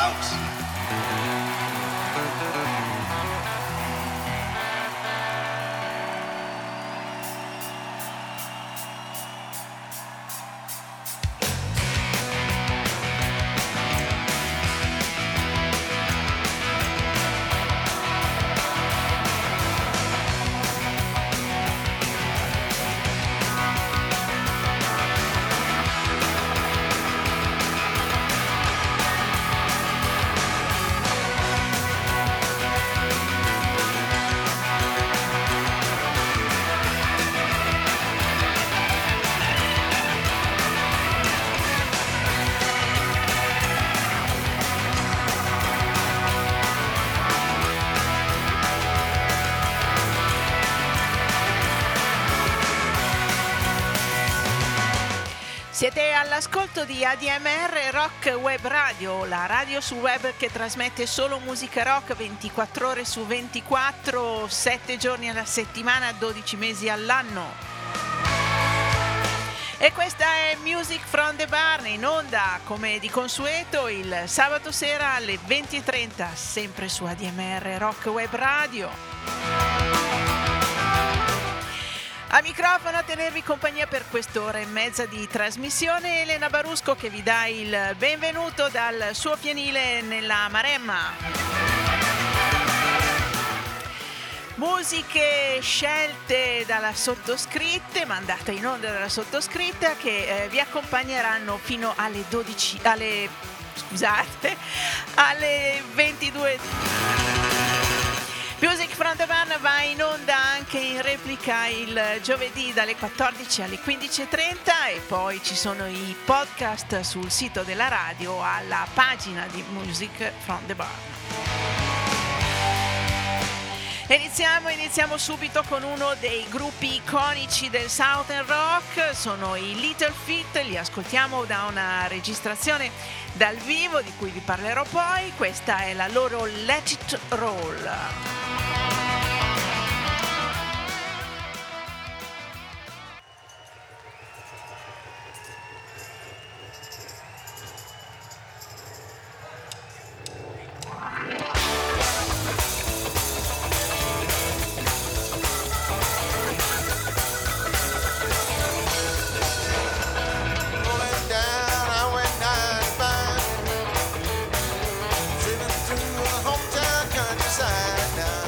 Strokes. Siete all'ascolto di ADMR Rock Web Radio, la radio sul web che trasmette solo musica rock 24 ore su 24, 7 giorni alla settimana, 12 mesi all'anno. E questa è Music from the Barn, in onda come di consueto il sabato sera alle 20:30, sempre su ADMR Rock Web Radio. A microfono a tenervi compagnia per quest'ora e mezza di trasmissione Elena Barusco, che vi dà il benvenuto dal suo pianile nella Maremma. Musiche scelte dalla sottoscritta, mandate in onda dalla sottoscritta, che vi accompagneranno fino alle 22. Music from the Barn va in onda anche in replica il giovedì dalle 14 alle 15:30 e poi ci sono i podcast sul sito della radio alla pagina di Music from the Barn. Iniziamo subito con uno dei gruppi iconici del Southern Rock, sono i Little Feat, li ascoltiamo da una registrazione dal vivo di cui vi parlerò poi, questa è la loro Let It Roll. Hometown countryside now.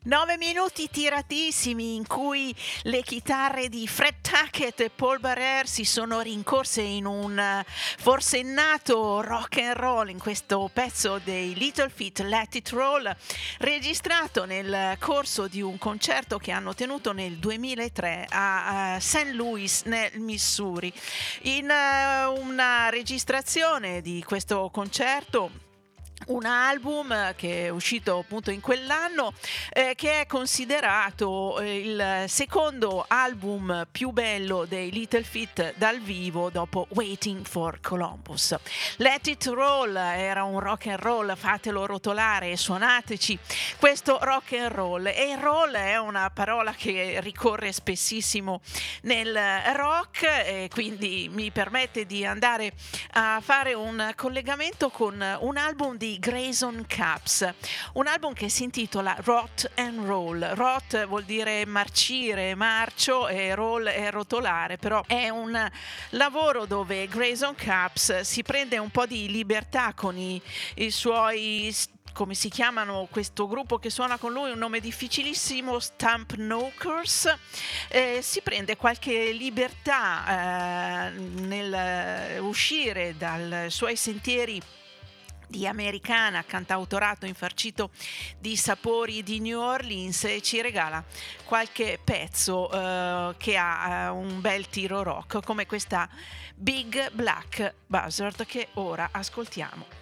9 minuti tiratissimi in cui le chitarre di Fred Tackett e Paul Barrère si sono rincorse in un forsennato rock and roll in questo pezzo dei Little Feat, Let It Roll, registrato nel corso di un concerto che hanno tenuto nel 2003 a St. Louis nel Missouri. In una registrazione di questo concerto, un album che è uscito appunto in quell'anno, che è considerato il secondo album più bello dei Little Feat dal vivo dopo Waiting for Columbus. Let It Roll era un rock and roll, fatelo rotolare e suonateci questo rock and roll. E il roll è una parola che ricorre spessissimo nel rock, e quindi mi permette di andare a fare un collegamento con un album di Grayson Capps, un album che si intitola Rot and Roll. Rot vuol dire marcire, marcio, e roll è rotolare, però è un lavoro dove Grayson Capps si prende un po' di libertà con i suoi, come si chiamano questo gruppo che suona con lui, un nome difficilissimo, Stump Knockers. Si prende qualche libertà nel uscire dai suoi sentieri di americana, cantautorato infarcito di sapori di New Orleans, e ci regala qualche pezzo che ha un bel tiro rock, come questa Big Black Buzzard che ora ascoltiamo.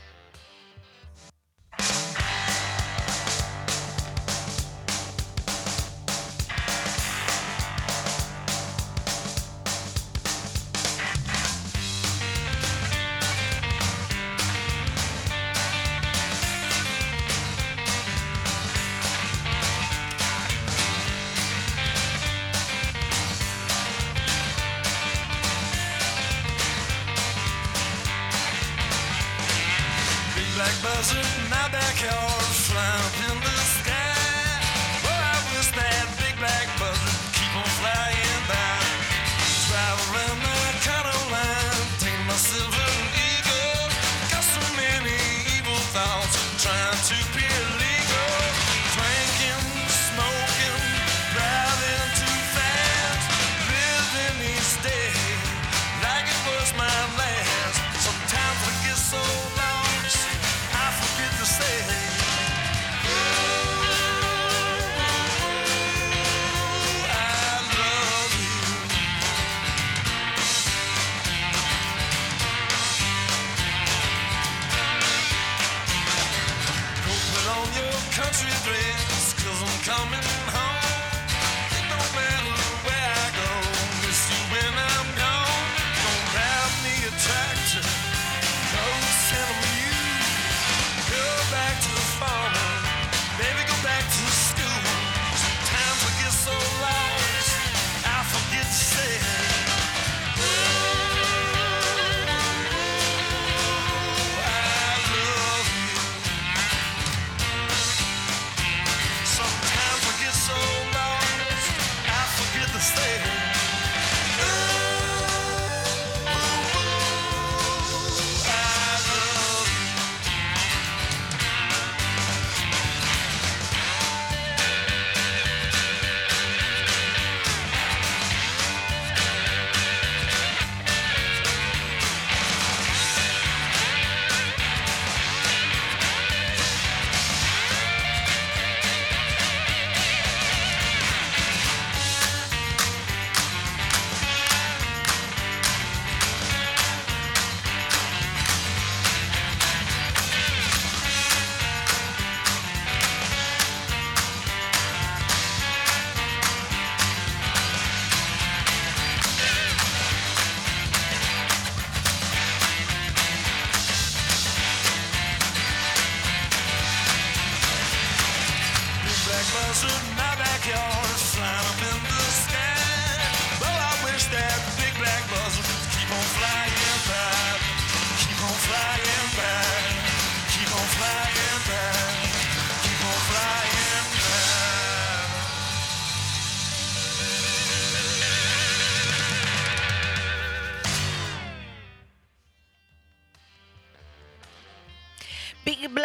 Black buzzard, my backyard, flying up in the sky. Oh, I wish that big black buzzard keep on flying by. Drive around the County line, take my silver eagle. Got so many evil thoughts, trying to be illegal. Drinking, smoking, driving too fast. Living each day like it was my last. Sometimes I get so lost, I forget to say, oh.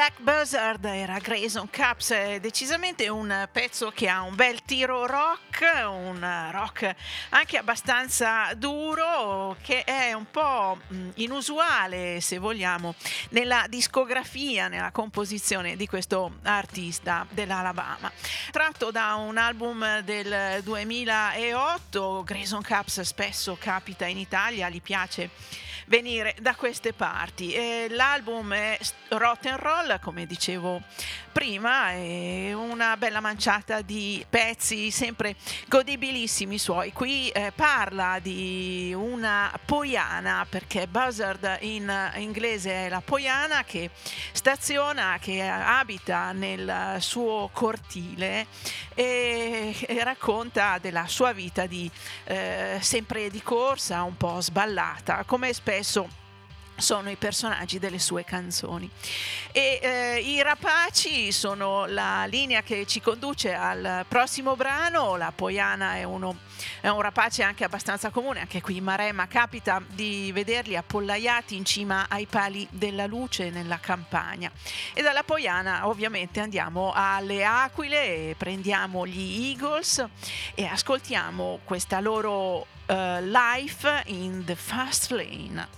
Black Buzzard era Grayson Caps, decisamente un pezzo che ha un bel tiro rock, un rock anche abbastanza duro, che è un po' inusuale, se vogliamo, nella discografia, nella composizione di questo artista dell'Alabama. Tratto da un album del 2008, Grayson Caps spesso capita in Italia, gli piace venire da queste parti. L'album è Rotten Roll, come dicevo prima, è una bella manciata di pezzi sempre godibilissimi suoi. Qui parla di una poiana, perché buzzard in inglese è la poiana che staziona, che abita nel suo cortile e racconta della sua vita di sempre di corsa, un po' sballata, come spesso sono i personaggi delle sue canzoni. E i rapaci sono la linea che ci conduce al prossimo brano. La poiana è un rapace anche abbastanza comune, anche qui in Maremma capita di vederli appollaiati in cima ai pali della luce nella campagna. E dalla poiana ovviamente andiamo alle Aquile e prendiamo gli Eagles e ascoltiamo questa loro Life in the Fast Lane.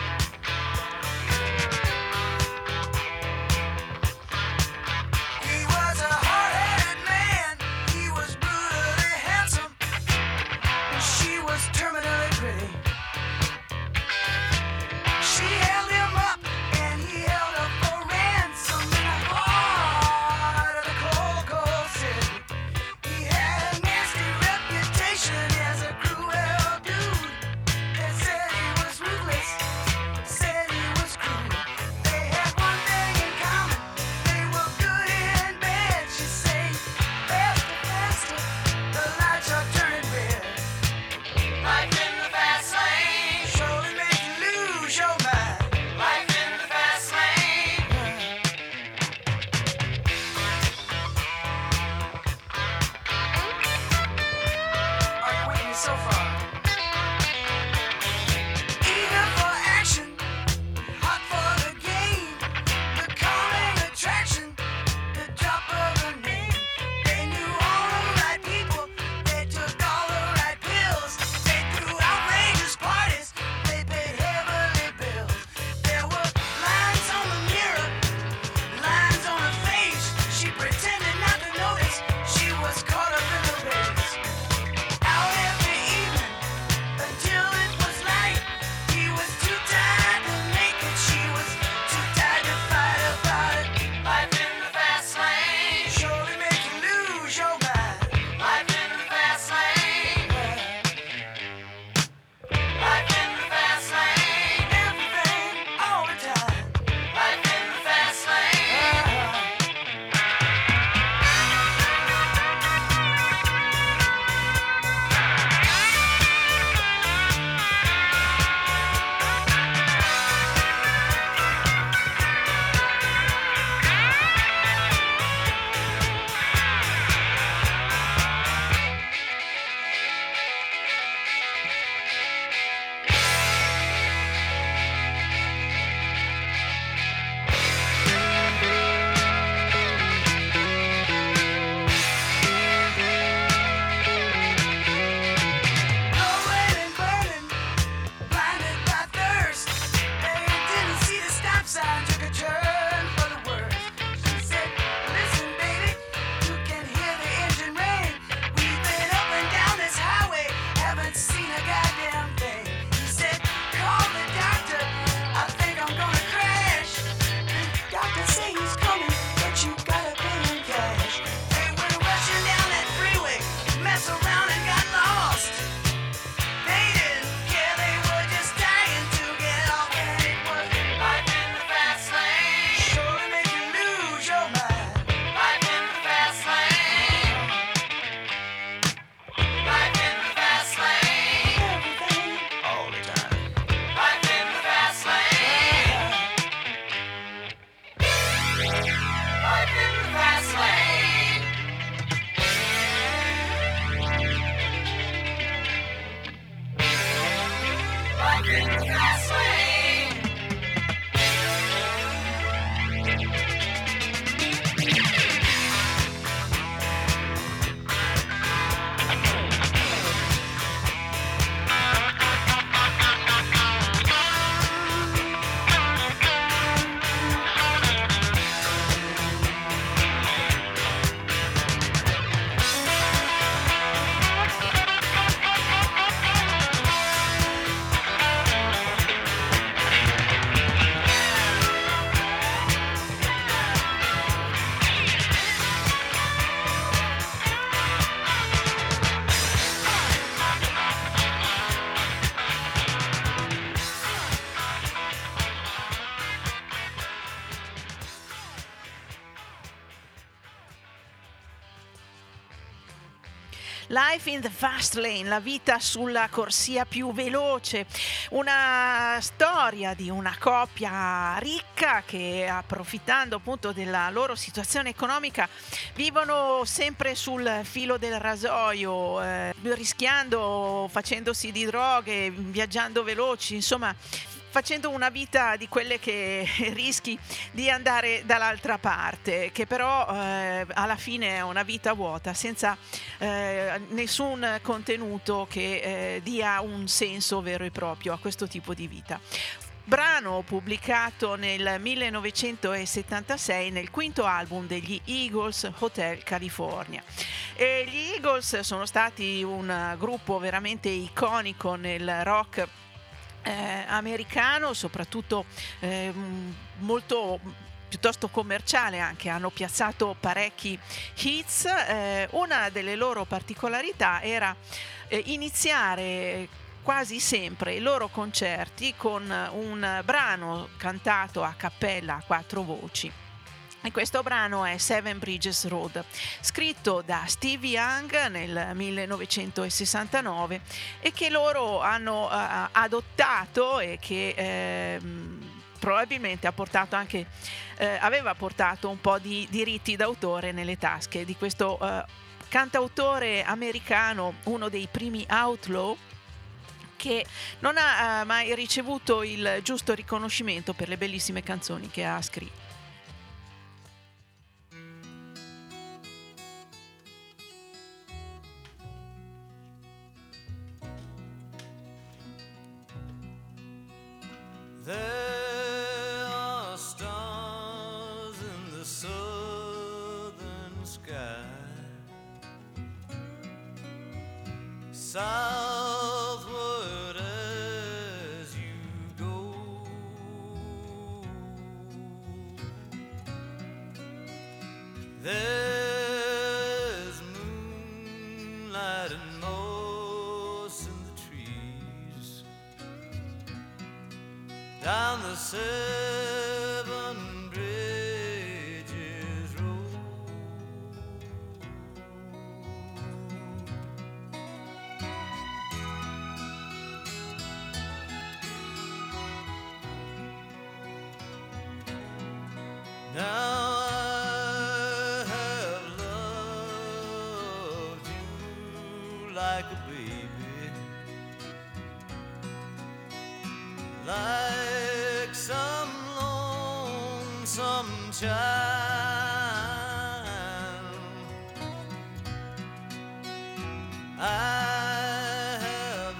He Life in the Fast Lane, la vita sulla corsia più veloce, una storia di una coppia ricca che, approfittando appunto della loro situazione economica, vivono sempre sul filo del rasoio, rischiando, facendosi di droghe, viaggiando veloci, insomma facendo una vita di quelle che rischi di andare dall'altra parte, che però alla fine è una vita vuota, senza nessun contenuto che dia un senso vero e proprio a questo tipo di vita. Brano pubblicato nel 1976 nel quinto album degli Eagles, Hotel California. E gli Eagles sono stati un gruppo veramente iconico nel rock americano, soprattutto molto piuttosto commerciale anche, hanno piazzato parecchi hits. Una delle loro particolarità era iniziare quasi sempre i loro concerti con un brano cantato a cappella a quattro voci. E questo brano è Seven Bridges Road, scritto da Steve Young nel 1969 e che loro hanno adottato e che probabilmente ha portato anche, aveva portato un po' di diritti d'autore nelle tasche di questo cantautore americano, uno dei primi outlaw, che non ha mai ricevuto il giusto riconoscimento per le bellissime canzoni che ha scritto. There are stars in the southern sky, southward as you go. There's moonlight and moss in the trees down the Seven Bridges Road. Now I have loved you like a baby, like some lonesome child. I have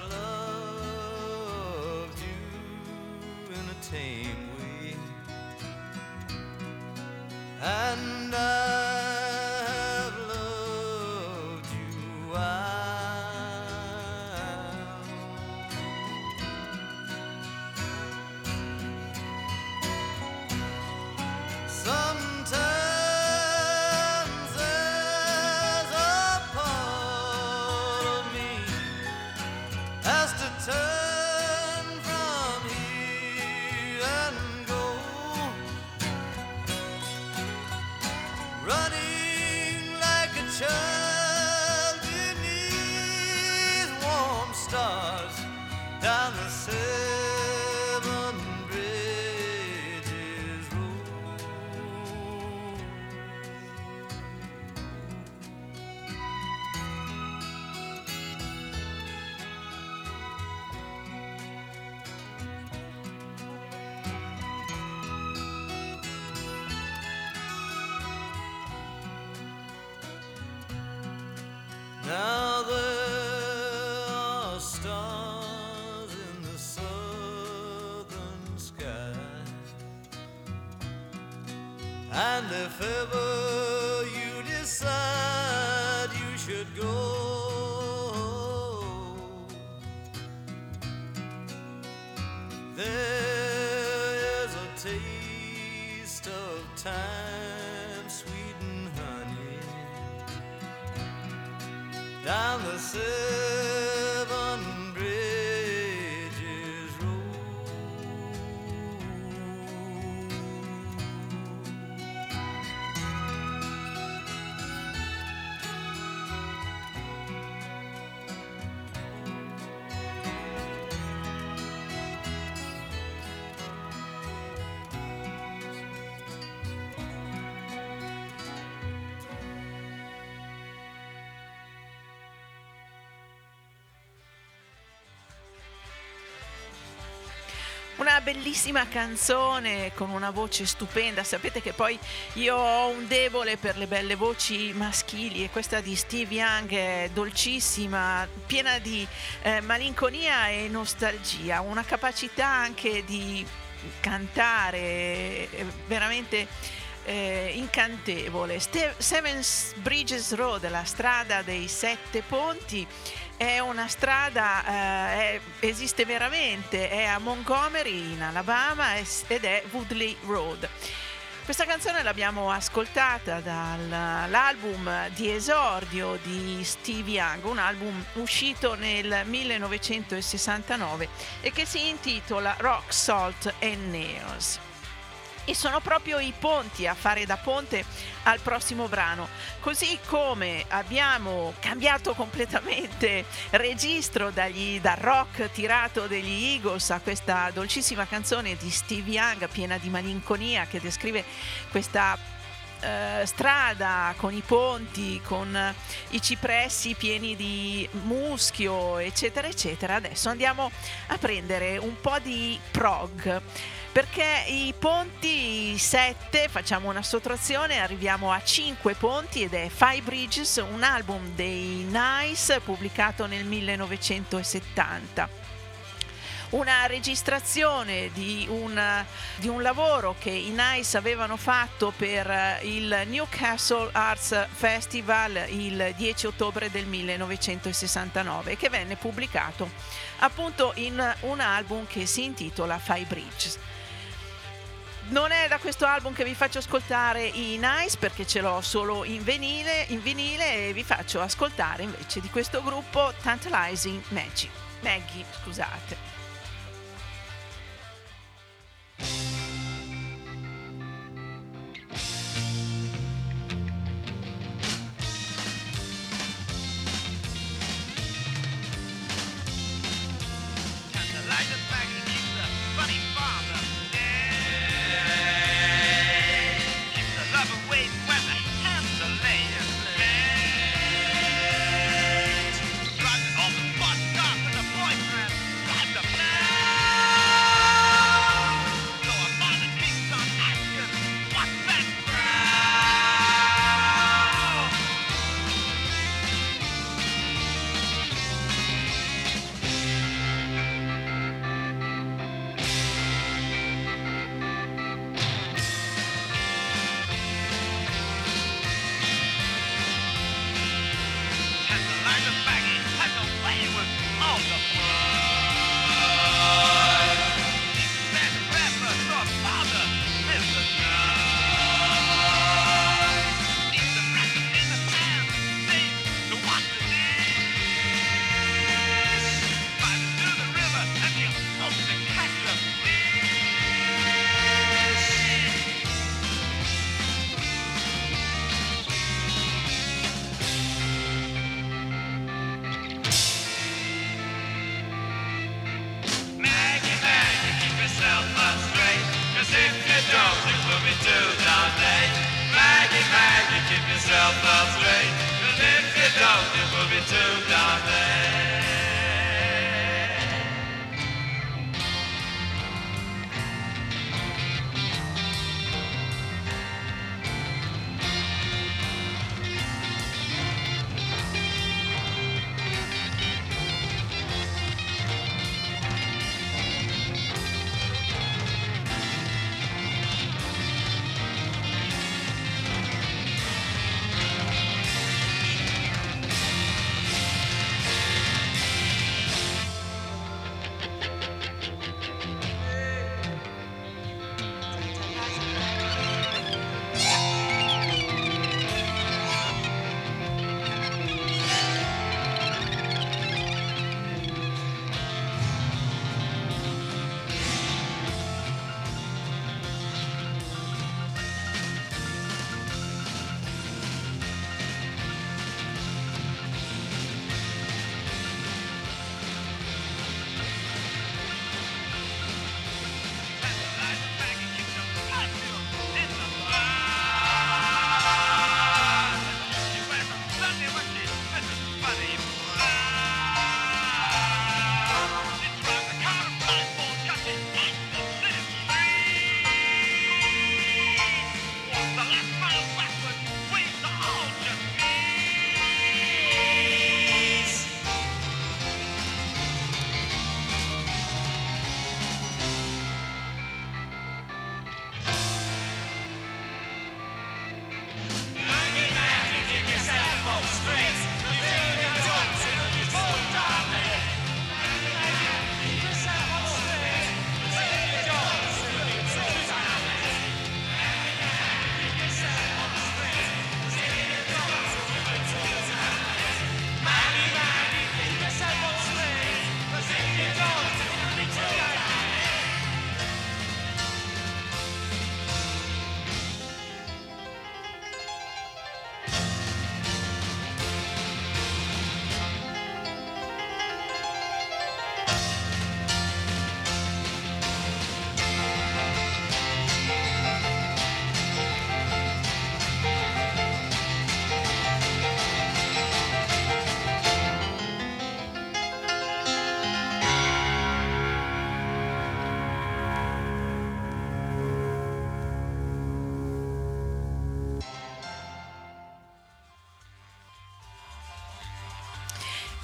loved you in a tame way, and I have loved you wild. Sometimes there's a part of me has to turn from here and go, running like a child beneath warm stars down the Seven Bridges Road. Now there are stars in the southern sky, and if ever you decide you should go, there's a taste of time, sweet and honey, down the Seven Bridges Road. Una bellissima canzone con una voce stupenda. Sapete che poi io ho un debole per le belle voci maschili e questa di Steve Young è dolcissima, piena di malinconia e nostalgia, una capacità anche di cantare veramente incantevole. Seven Bridges Road, la strada dei 7 ponti, è una strada, esiste veramente, è a Montgomery in Alabama ed è Woodley Road. Questa canzone l'abbiamo ascoltata dall'album di esordio di Steve Young, un album uscito nel 1969 e che si intitola Rock, Salt and Nails. E sono proprio i ponti a fare da ponte al prossimo brano, così come abbiamo cambiato completamente registro dal rock tirato degli Eagles a questa dolcissima canzone di Steve Young piena di malinconia che descrive questa strada con i ponti, con i cipressi pieni di muschio, eccetera eccetera. Adesso andiamo a prendere un po' di prog, perché i ponti 7, facciamo una sottrazione, arriviamo a 5 ponti ed è Five Bridges, un album dei Nice pubblicato nel 1970. Una registrazione di un lavoro che i Nice avevano fatto per il Newcastle Arts Festival il 10 ottobre del 1969 che venne pubblicato appunto in un album che si intitola Five Bridges. Non è da questo album che vi faccio ascoltare i Nice perché ce l'ho solo in vinile e vi faccio ascoltare invece di questo gruppo Tantalizing Maggie, scusate.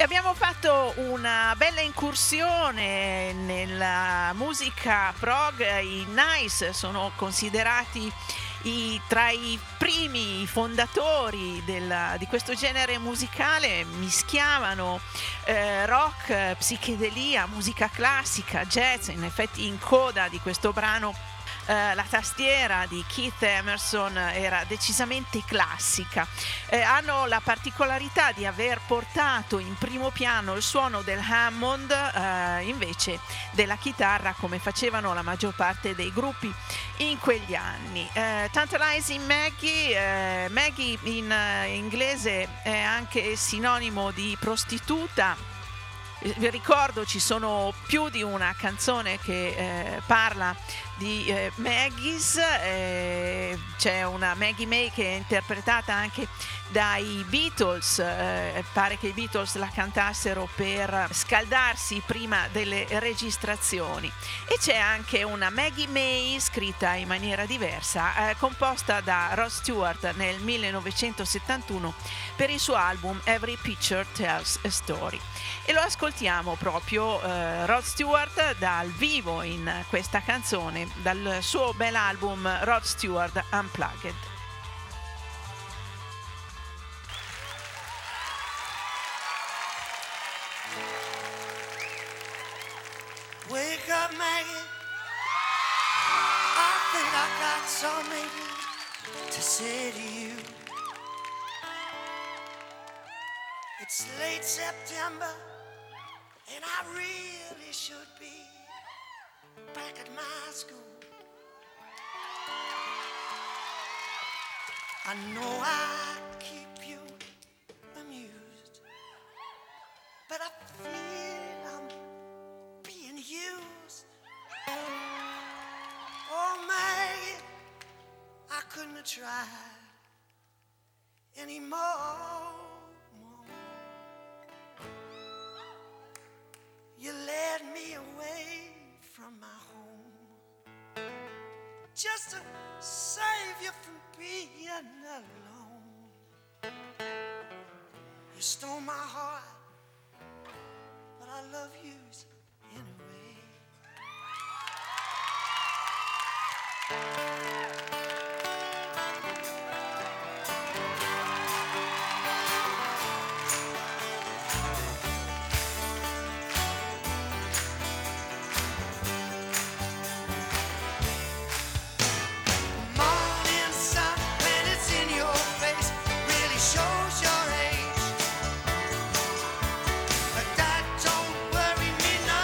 abbiamo fatto una bella incursione nella musica prog. I Nice sono considerati tra i primi fondatori di questo genere musicale. Mischiavano rock, psichedelia, musica classica, jazz. In effetti in coda di questo brano la tastiera di Keith Emerson era decisamente classica. Hanno la particolarità di aver portato in primo piano il suono del Hammond invece della chitarra, come facevano la maggior parte dei gruppi in quegli anni. Tantalizing Maggie, Maggie in inglese è anche sinonimo di prostituta. Vi ricordo, ci sono più di una canzone che parla di Maggie's. C'è una Maggie May che è interpretata anche dai Beatles. Pare che i Beatles la cantassero per scaldarsi prima delle registrazioni. E c'è anche una Maggie May scritta in maniera diversa, composta da Rod Stewart nel 1971 per il suo album Every Picture Tells a Story. E lo ascoltiamo proprio Rod Stewart dal vivo in questa canzone, dal suo bel album Rod Stewart Unplugged. Wake up, Maggie. I think I got something to say to you. It's late September, and I really should be back at my school. I know I keep you amused, but I feel I'm being used. Oh, Maggie, I couldn't have tried anymore. You led me away from my home just to save you from being alone. You stole my heart, but I love you anyway. Worry me not.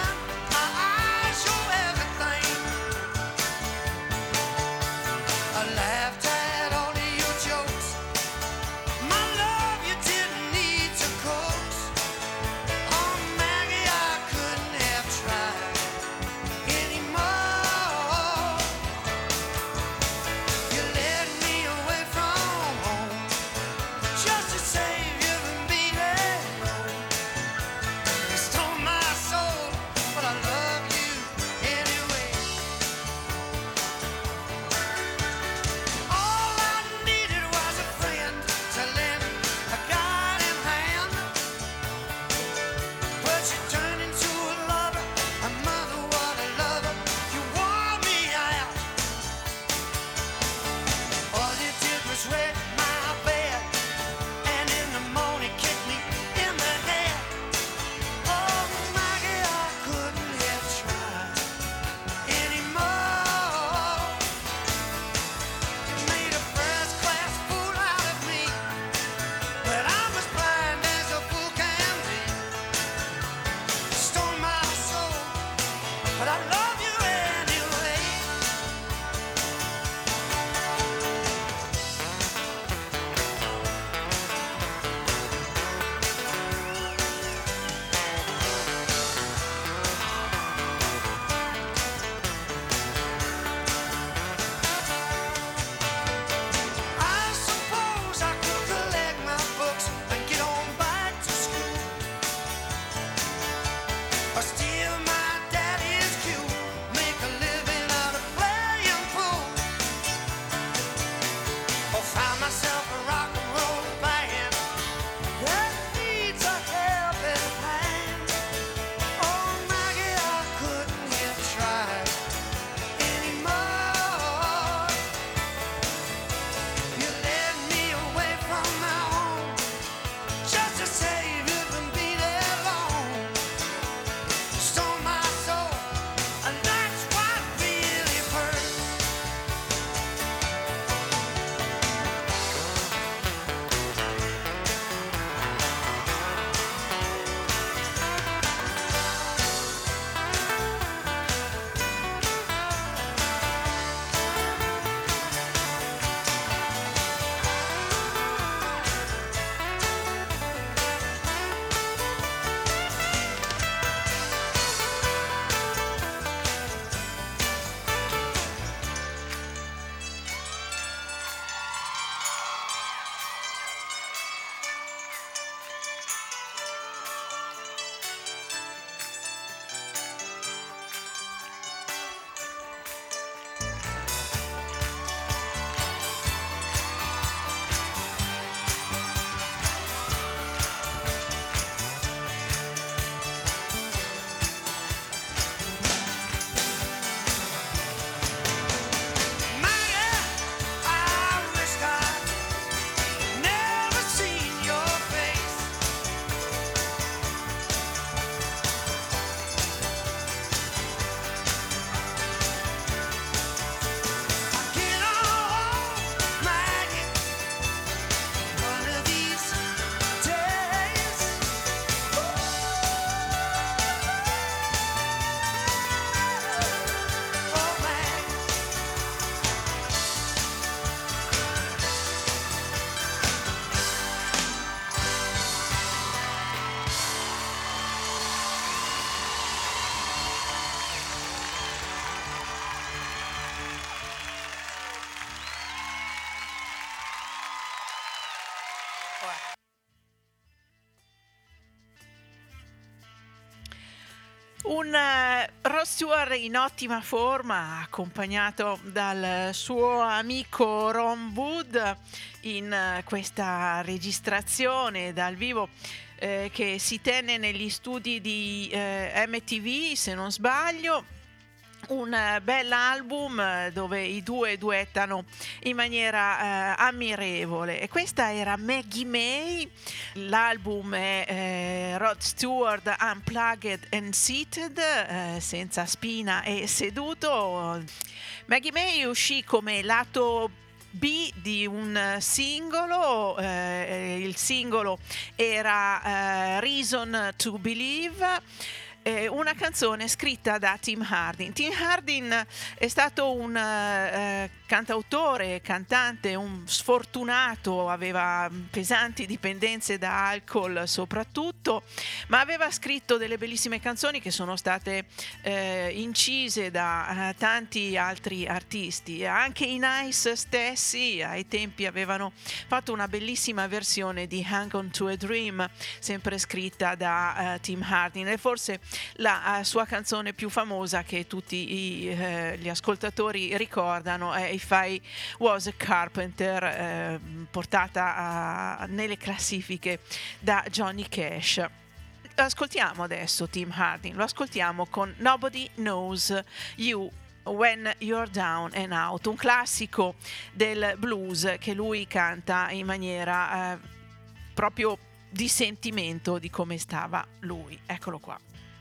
Un Rod Stewart in ottima forma, accompagnato dal suo amico Ron Wood in questa registrazione dal vivo che si tenne negli studi di MTV, se non sbaglio. Un bell'album dove i due duettano in maniera ammirevole, e questa era Maggie May. L'album è Rod Stewart Unplugged and Seated, senza spina e seduto. Maggie May uscì come lato B di un singolo, il singolo era Reason to Believe, una canzone scritta da Tim Hardin. Tim Hardin è stato un cantautore, cantante, un sfortunato, aveva pesanti dipendenze da alcol soprattutto, ma aveva scritto delle bellissime canzoni che sono state incise da tanti altri artisti. Anche i Nice stessi ai tempi avevano fatto una bellissima versione di Hang On To A Dream, sempre scritta da Tim Hardin, e forse la sua canzone più famosa che tutti gli ascoltatori ricordano è If I Was a Carpenter, portata nelle classifiche da Johnny Cash. Ascoltiamo adesso Tim Hardin, lo ascoltiamo con Nobody Knows You When You're Down and Out, un classico del blues che lui canta in maniera proprio di sentimento di come stava lui. Eccolo qua.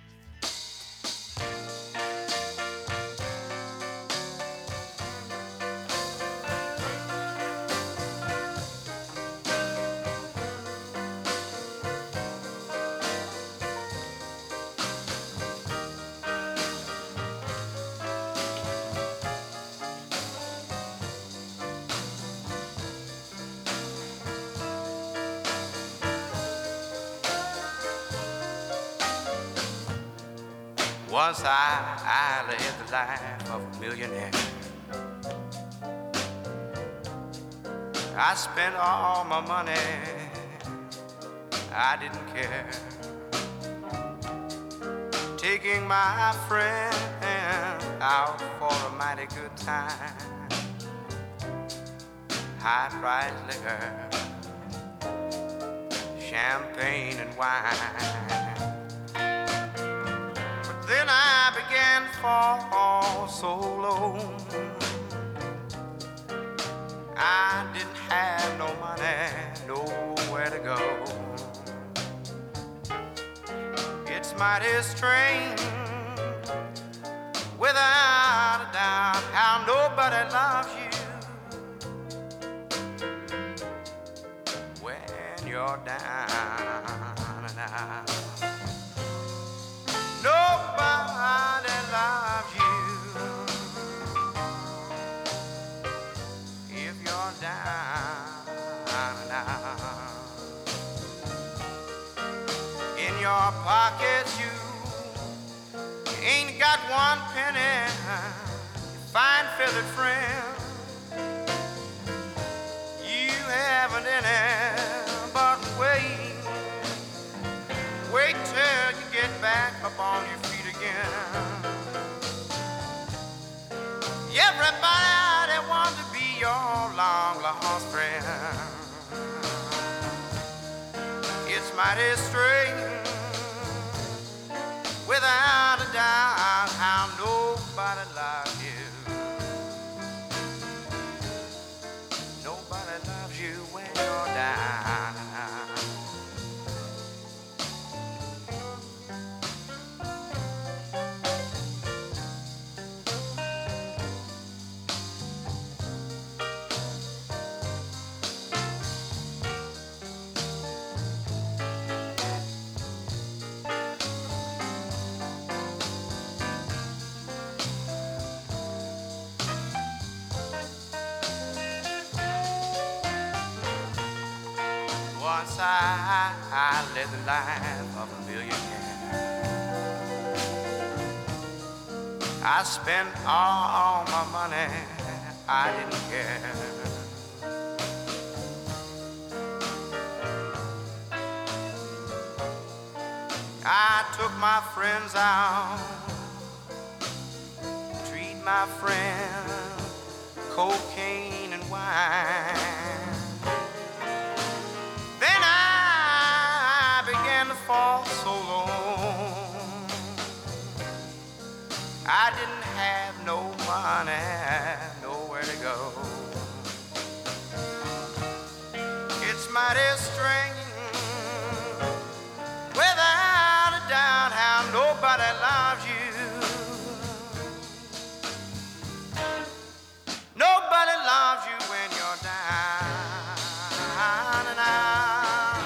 Once I led the life of a millionaire. I spent all my money, I didn't care. Taking my friend out for a mighty good time. High-priced liquor, champagne and wine. Then I began to fall so low. I didn't have no money, nowhere to go. It's mighty strange, without a doubt, how nobody loves you when you're down and out. Nobody loves you if you're down and out. In your pockets you ain't got one penny. Fine feathered friend, you haven't any, but wait till you get back up on your feet again. Everybody wants to be your long lost friend. It's mighty strange, without a doubt, how nobody loves you. Nobody loves you when you're down and out. Once I led the life of a millionaire. I spent all my money, I didn't care. I took my friends out, treat my friends cocaine and wine. Then I began to fall so low. I didn't have no money, nowhere to go. It's mighty strange, without a doubt, how nobody loves you. Nobody loves you when you're down and out.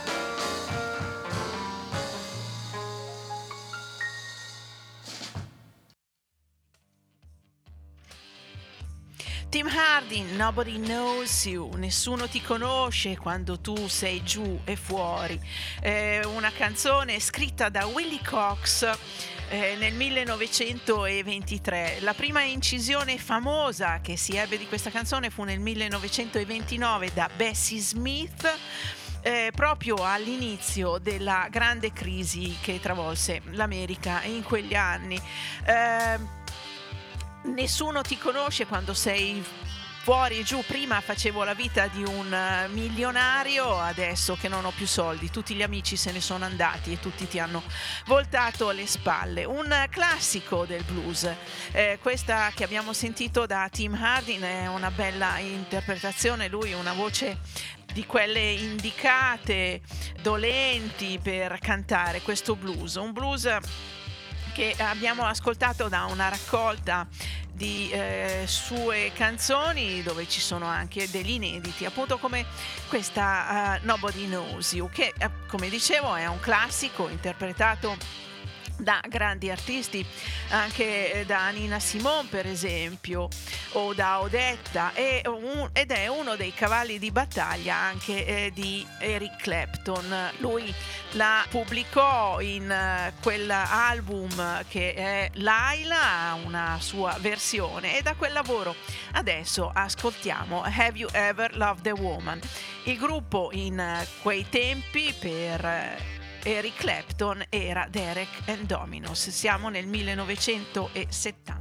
Tim Hardin, Nobody Knows You, nessuno ti conosce quando tu sei giù e fuori. Una canzone scritta da Willie Cox nel 1923. La prima incisione famosa che si ebbe di questa canzone fu nel 1929 da Bessie Smith, proprio all'inizio della grande crisi che travolse l'America in quegli anni. Nessuno ti conosce quando sei fuori e giù. Prima facevo la vita di un milionario, adesso che non ho più soldi tutti gli amici se ne sono andati e tutti ti hanno voltato le spalle. Un classico del blues, questa che abbiamo sentito da Tim Hardin è una bella interpretazione. Lui una voce di quelle indicate, dolenti per cantare questo blues, un blues che abbiamo ascoltato da una raccolta di sue canzoni dove ci sono anche degli inediti, appunto come questa Nobody Knows You, che come dicevo è un classico interpretato da grandi artisti, anche da Nina Simone per esempio, o da Odetta, ed è uno dei cavalli di battaglia anche di Eric Clapton. Lui la pubblicò in quell'album che è Laila, una sua versione, e da quel lavoro adesso ascoltiamo Have You Ever Loved a Woman. Il gruppo in quei tempi per Eric Clapton era Derek and Dominos. Siamo nel 1970.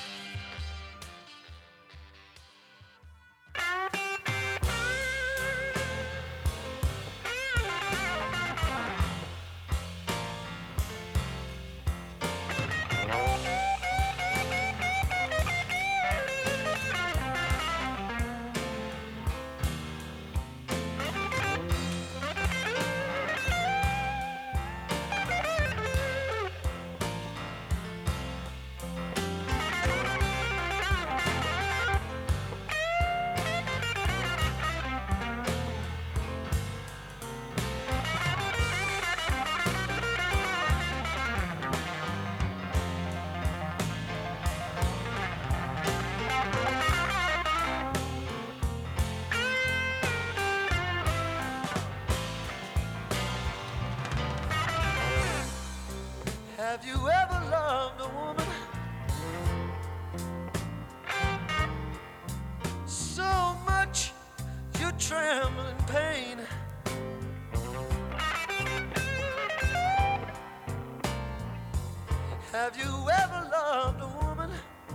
Have you ever loved a woman so much you tremble in pain? Have you ever loved a woman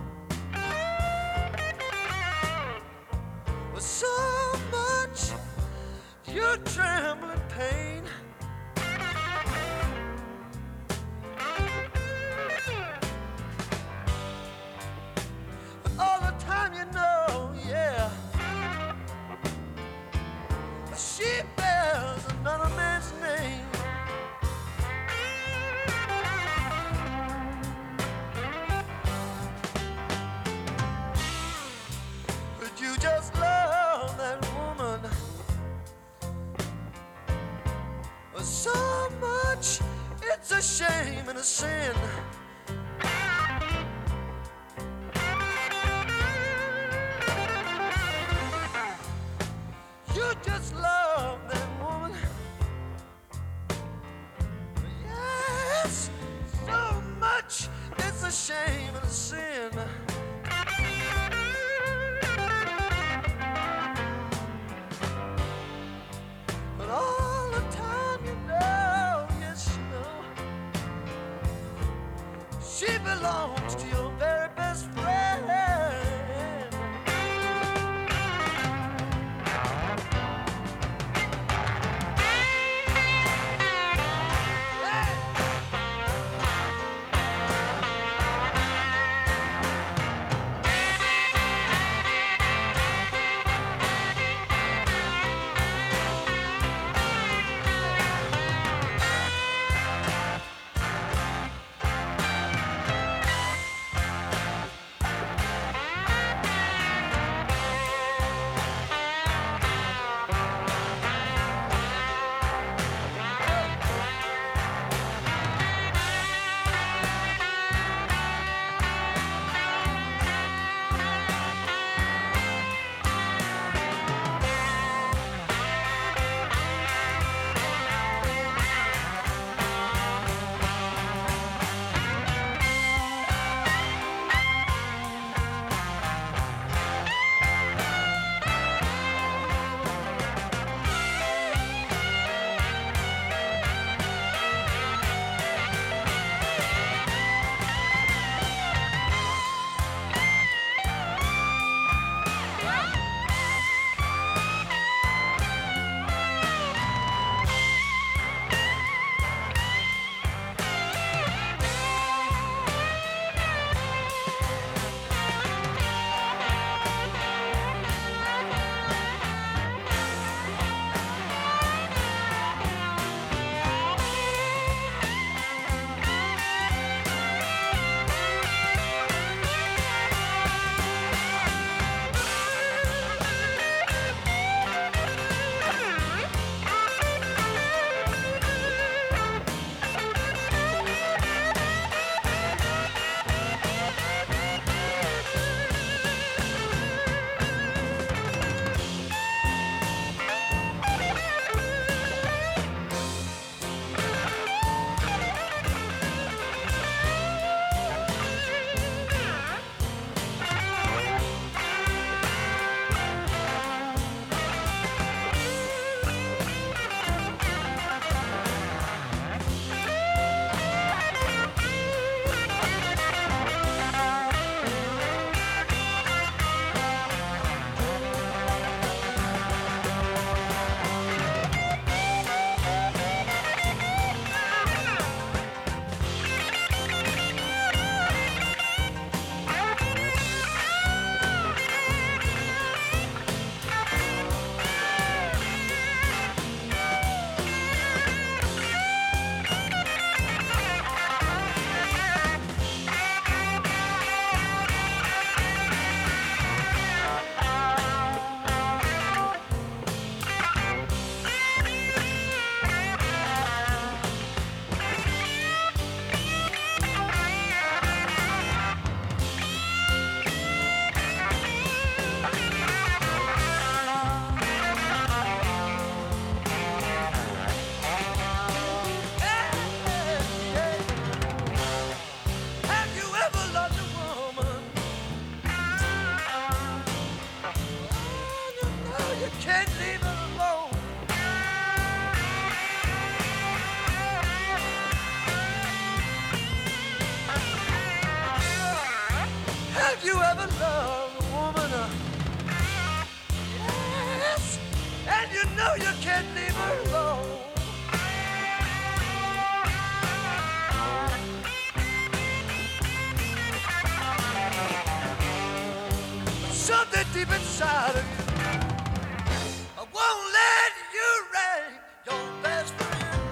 with so much you tremble in pain? All the time you know, yeah, she bears another man's name. Would you just love that woman so much it's a shame and a sin? You just love that woman. Yes, so much it's a shame and a sin. But all the time you know, yes you know, know you can't leave her alone. Something deep inside of you won't let you rain your best friend.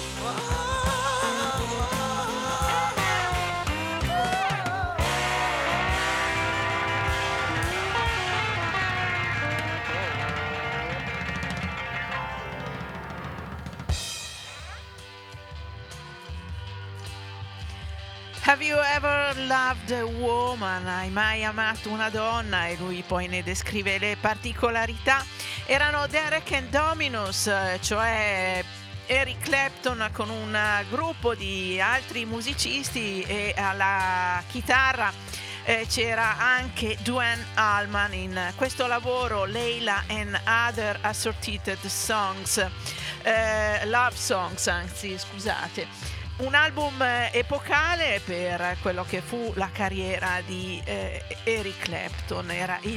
Have you ever loved a woman? Hai mai amato una donna? E lui poi ne descrive le particolarità. Erano Derek and Dominos, cioè Eric Clapton con un gruppo di altri musicisti, e alla chitarra c'era anche Duane Allman in questo lavoro, Layla and Other Assorted Songs, Love Songs, anzi scusate. Un album epocale per quello che fu la carriera di Eric Clapton, era il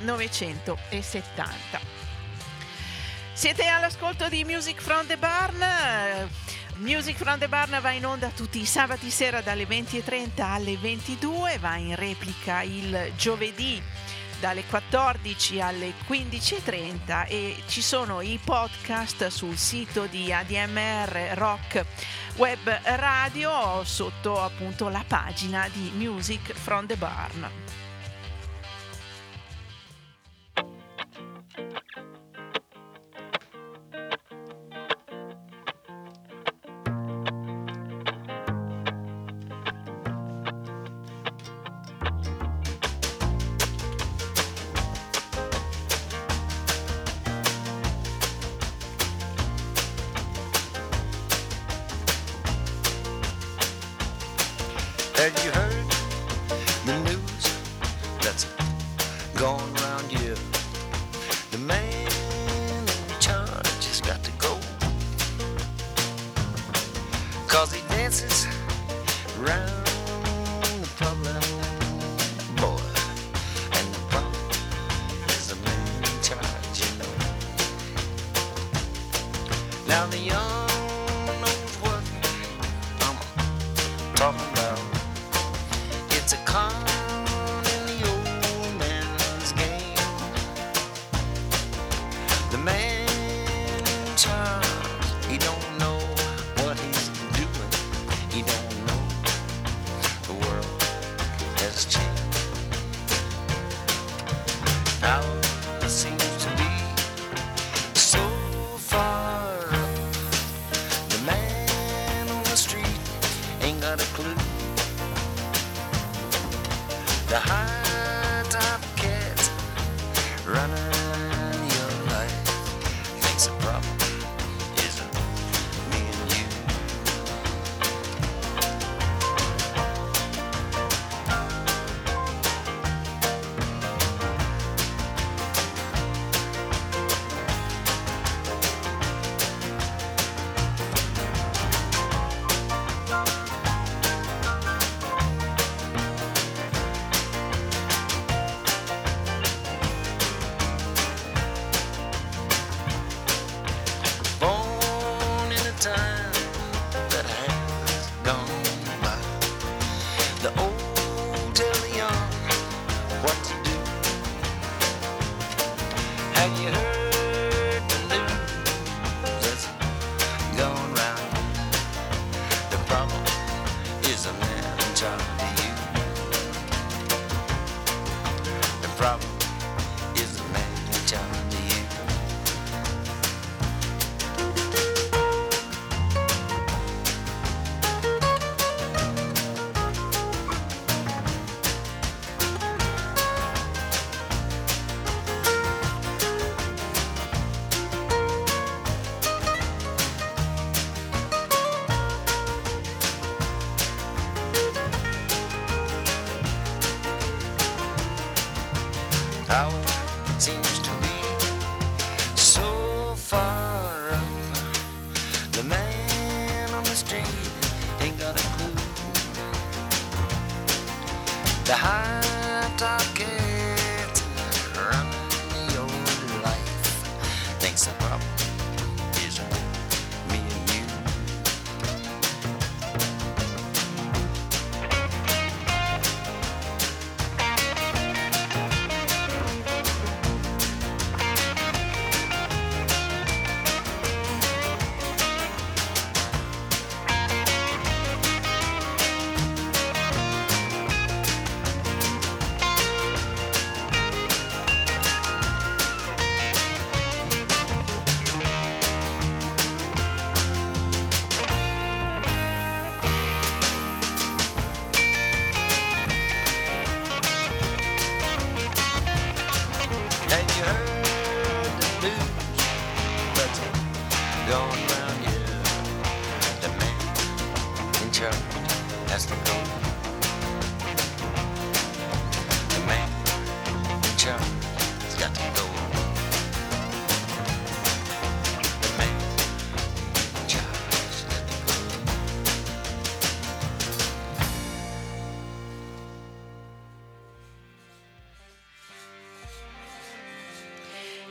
1970. Siete all'ascolto di Music from the Barn. Music from the Barn va in onda tutti i sabati sera dalle 20:30 alle 22, va in replica il giovedì dalle 14 alle 15:30 e ci sono i podcast sul sito di ADMR Rock Web Radio sotto appunto la pagina di Music from the Barn. Have you heard the news that's going around here? The man in charge has got to go, 'cause he dances around the public boy, and the problem is the man in charge, you know. Now the young knows what I'm talking about. It's a con in the old man's game. The man in charge, he don't know what he's doing. He don't know the world has changed. Power seems to be so far up. The man on the street ain't got a clue. The high top cats running your life thinks the problem isn't me and you. Born in a time that has gone by. The old tell the young what to do. Have you heard the news that's going round? The problem is the man in charge of you. The problem is the man in charge of you. Power seems to be so far up. The man on the street ain't got a clue. The high top cats running your life thinks the problem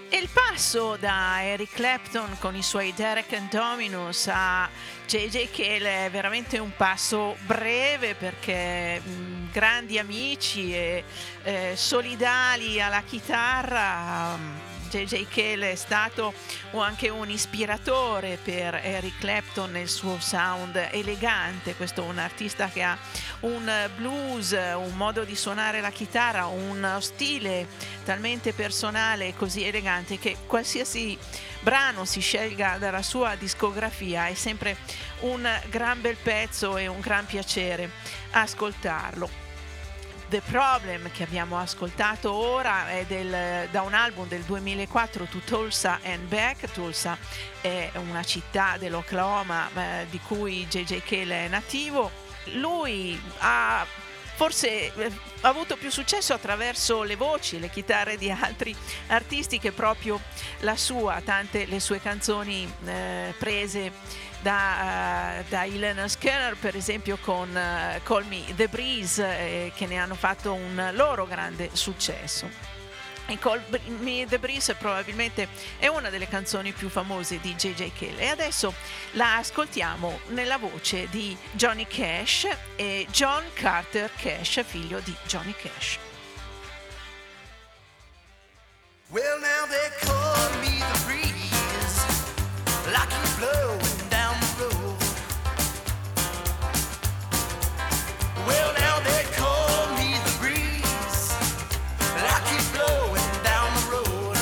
E il passo da Eric Clapton con i suoi Derek and Dominus a J.J. Cale è veramente un passo breve, perché grandi amici e solidali alla chitarra. J.J. Cale è stato anche un ispiratore per Eric Clapton nel suo sound elegante. Questo è un artista che ha un blues, un modo di suonare la chitarra, un stile talmente personale e così elegante che qualsiasi brano si scelga dalla sua discografia è sempre un gran bel pezzo e un gran piacere ascoltarlo. The Problem, che abbiamo ascoltato ora, è da un album del 2004, To Tulsa and Back. Tulsa è una città dell'Oklahoma di cui J.J. Cale è nativo. Lui ha forse avuto più successo attraverso le voci, le chitarre di altri artisti che proprio la sua, tante le sue canzoni prese da Leonard Skinner, per esempio con Call Me The Breeze, che ne hanno fatto un loro grande successo. E Call Me The Breeze probabilmente è una delle canzoni più famose di J.J. Cale, e adesso la ascoltiamo nella voce di Johnny Cash e John Carter Cash, figlio di Johnny Cash. Well, now they call me the breeze, like you blowing down the road. Well, now they call me the breeze, like you blowing down the road.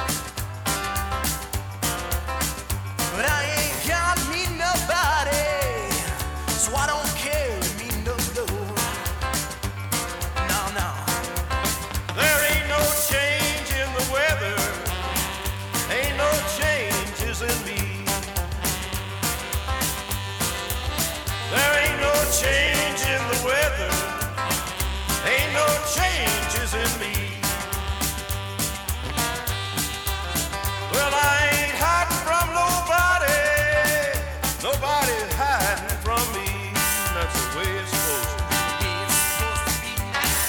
But I ain't got me nobody, so I don't care me no load. No, no. There ain't no change in the weather, ain't no changes in me. There ain't no change in the weather, ain't no changes in me. Well, I ain't hiding from nobody, nobody's hiding from me. That's the way it's supposed to be. It's supposed to be.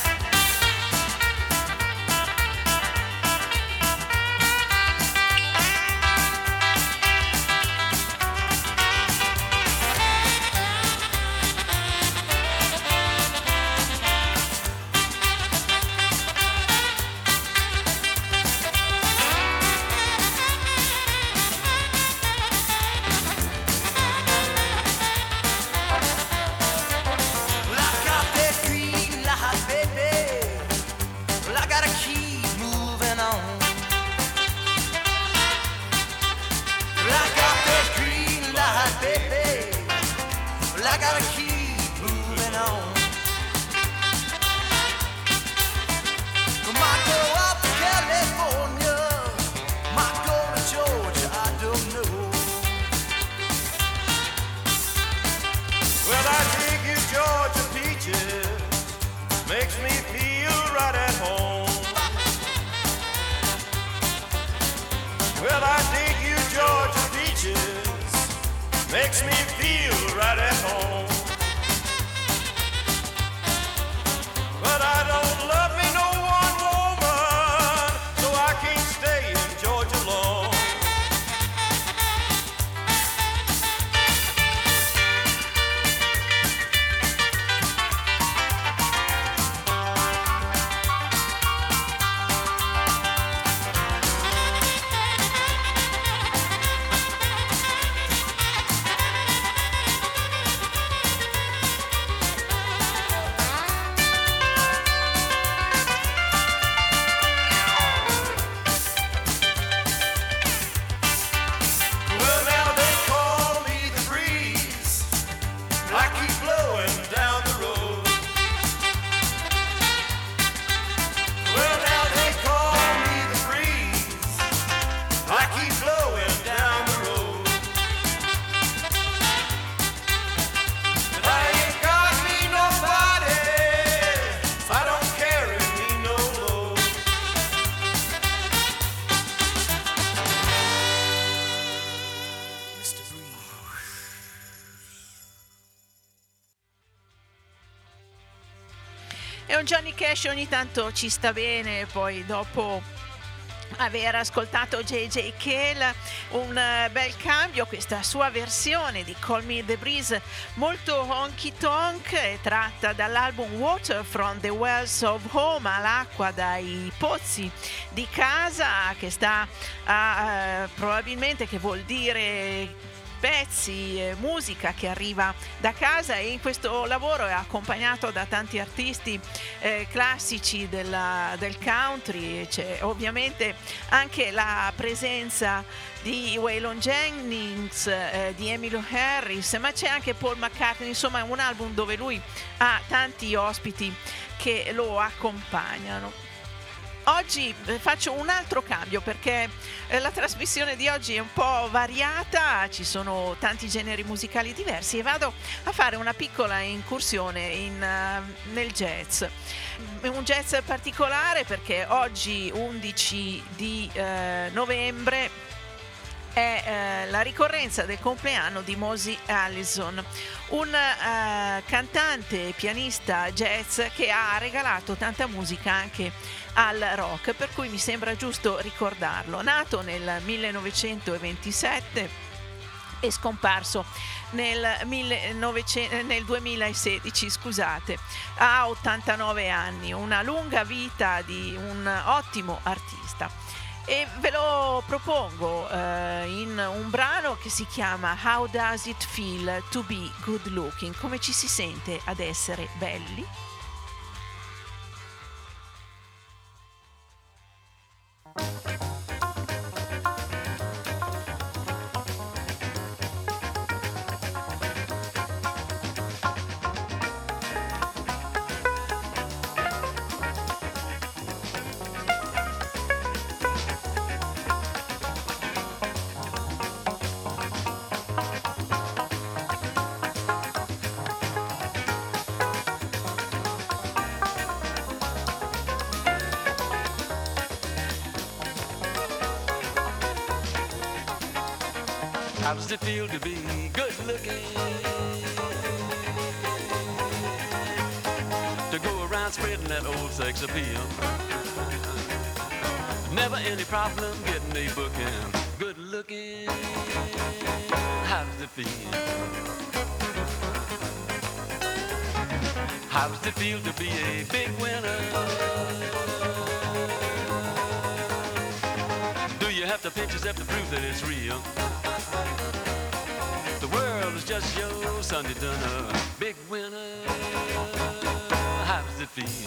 Well, I got that green light, baby. Well, I gotta keep moving on. Well, I got that green light, baby. Well, I gotta keep moving on. I might go up to California, might go to Georgia, I don't know. Well, I dig you Georgia peaches, makes me feel right at home. Well, I dig you Georgia peaches, makes me feel right at home. But I don't love me no one woman, so I can't stay in Georgia long. Well, now they call me the breeze, I keep blowing down the road. Well, now they call me the breeze, I keep blowing down the road. But I ain't got me nobody, I don't carry me no load. Mr. Breeze. E un Johnny Cash ogni tanto ci sta bene, poi dopo aver ascoltato J.J. Cale, un bel cambio, questa sua versione di Call Me the Breeze molto honky tonk, è tratta dall'album Water from the Wells of Home, all'acqua dai pozzi di casa, che sta a probabilmente, che vuol dire pezzi, musica che arriva da casa, e in questo lavoro è accompagnato da tanti artisti classici del country. C'è ovviamente anche la presenza di Waylon Jennings, di Emmylou Harris, ma c'è anche Paul McCartney, insomma è un album dove lui ha tanti ospiti che lo accompagnano. Oggi faccio un altro cambio perché la trasmissione di oggi è un po' variata, ci sono tanti generi musicali diversi, e vado a fare una piccola incursione nel jazz. Un jazz particolare perché oggi 11 di novembre è la ricorrenza del compleanno di Mosey Allison, un cantante e pianista jazz che ha regalato tanta musica anche al rock, per cui mi sembra giusto ricordarlo. Nato nel 1927 e scomparso nel 2016, scusate, ha 89 anni, una lunga vita di un ottimo artista. E ve lo propongo in un brano che si chiama How Does It Feel to Be Good Looking? Come ci si sente ad essere belli? How does it feel to be good looking? To go around spreading that old sex appeal. Never any problem getting a booking. Good looking. How does it feel? How does it feel to be a big winner? Do you have to pinch yourself to prove that it's real? The world is just your Sunday dinner. Big winner. How does it feel?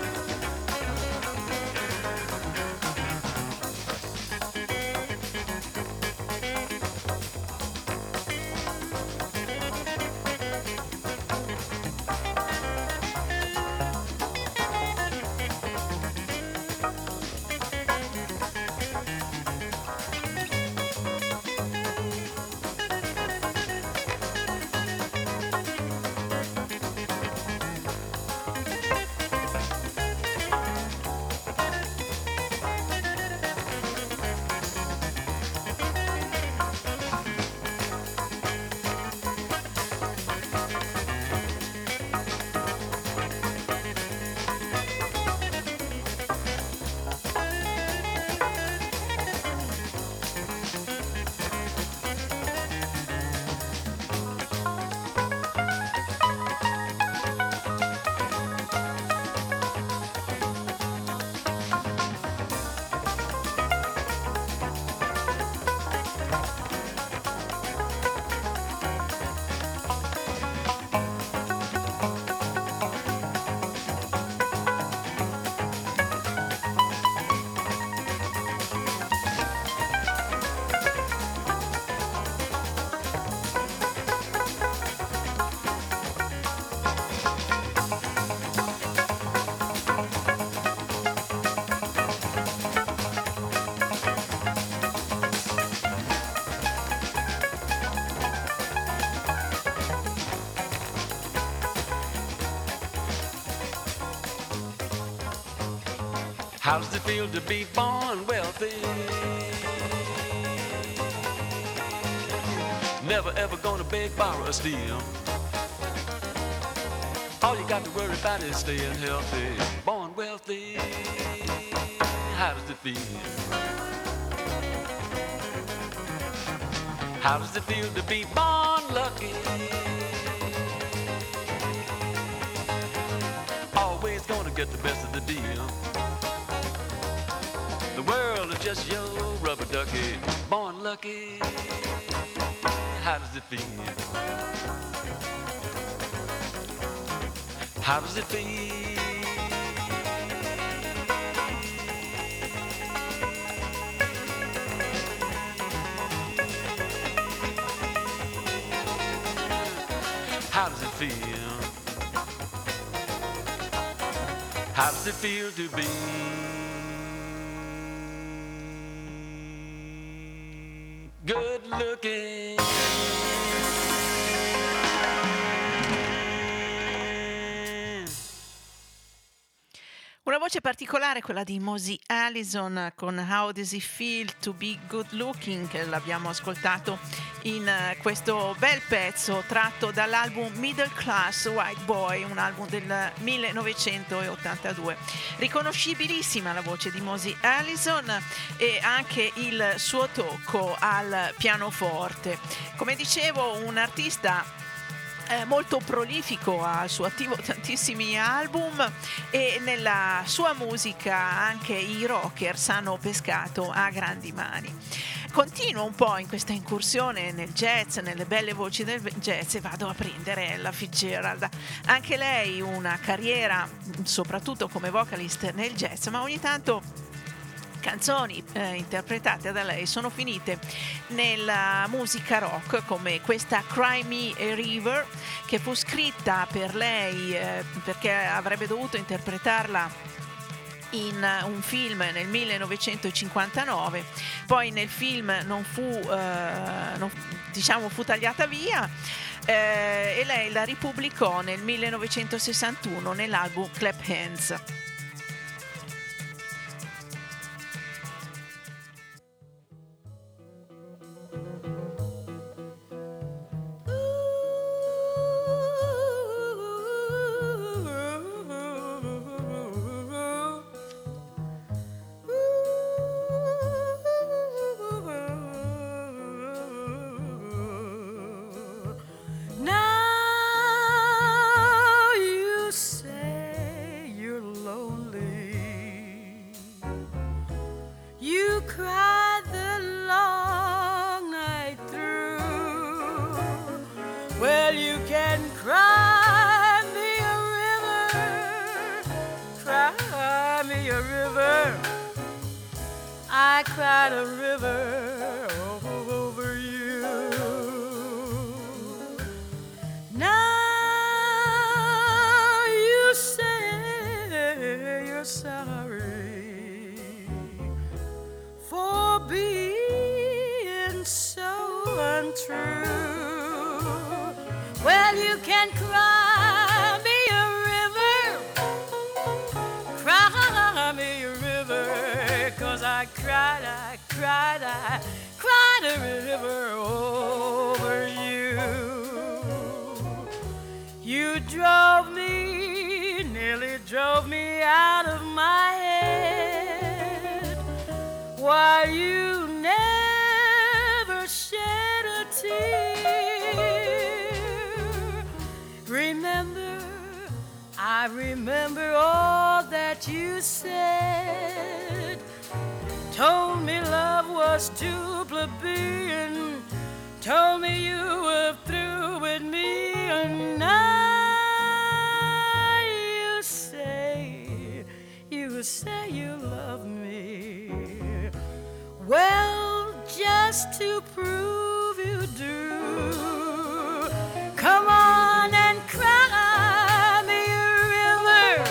How does it feel to be born wealthy? Never ever gonna beg, borrow, or steal. All you got to worry about is staying healthy. Born wealthy. How does it feel? How does it feel to be born lucky? Always gonna get the best of the deal. The world is just your rubber ducky, born lucky. How does it feel? How does it feel? How does it feel? How does it feel to be good looking? Una voce particolare, quella di Mosey Allison con How Does It Feel to Be Good Looking, che l'abbiamo ascoltato in questo bel pezzo tratto dall'album Middle Class White Boy, un album del 1982. Riconoscibilissima la voce di Mosey Allison e anche il suo tocco al pianoforte. Come dicevo, un artista molto prolifico, ha al suo attivo tantissimi album e nella sua musica anche i rockers hanno pescato a grandi mani. Continuo un po' in questa incursione nel jazz, nelle belle voci del jazz, e vado a prendere Ella Fitzgerald. Anche lei una carriera soprattutto come vocalist nel jazz, ma ogni tanto canzoni interpretate da lei sono finite nella musica rock, come questa Cry Me a River, che fu scritta per lei perché avrebbe dovuto interpretarla in un film nel 1959, poi nel film fu tagliata via e lei la ripubblicò nel 1961 nell'album Clap Hands. I cried a river over you. Now you say you're sorry for being so untrue. Well, you can cry me a river, cry me a river, 'cause I cried a river over you. You nearly drove me out of my head, while you never shed a tear. I remember all that you said. Told me love was too plebeian, told me you were through with me, and now you say you love me. Well, just to prove you do, come on and cry me a river,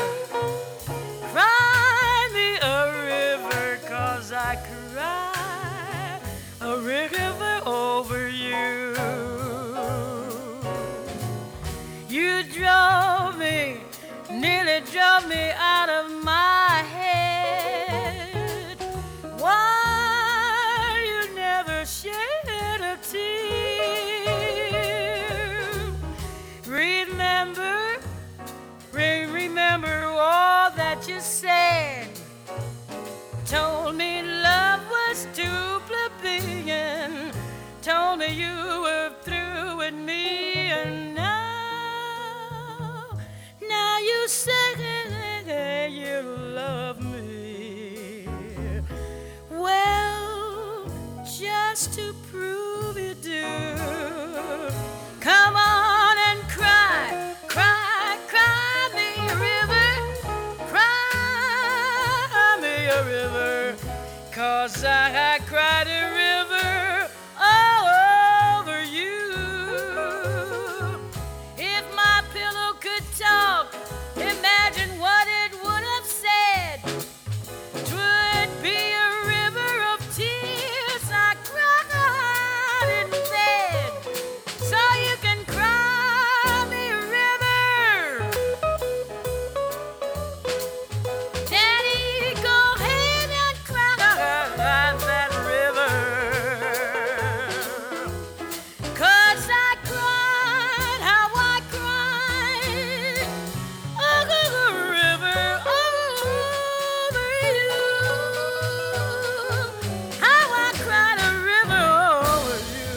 cry me a river, 'cause I cry a river over you. You nearly drove me out of my head, why you never shed a tear. Remember all that you said. Told me love was too plebeian, told me me you were through with me, and now you say you love me. Well, just to prove you do, come on and cry, cry, cry me a river, cry me a river, 'cause I cried a river all over you. If my pillow could talk, imagine what it would have said. 'Twould be a river of tears I cried in bed. So you can cry me a river, Daddy, go ahead and cry that river, 'cause I cried how I cried over the river over you, how I cried a river over you.